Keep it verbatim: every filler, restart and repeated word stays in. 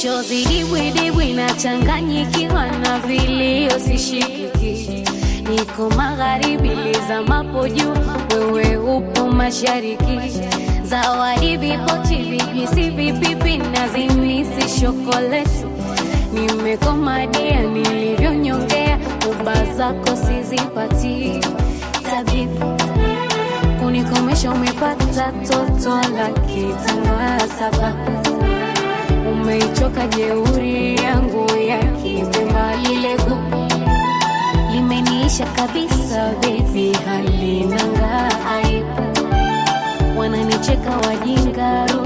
machozi dibwi dibwi na changanyikiwa na vilio sishikiki. Niko magharibi lizamapo juu, wewe upo mashariki. Zawadi vipochi vijisi vipipi na zimisi shokoleti. Nimekomadia nilivyonyongea, uba zako sizipati. Tabibu kunikomesha umepata toto la kitanga saba. Umeichoka jeuri yangu ya kipemba, lile gu limeniisha kabisa baby, halinanga aibu. Wananicheka wajinga.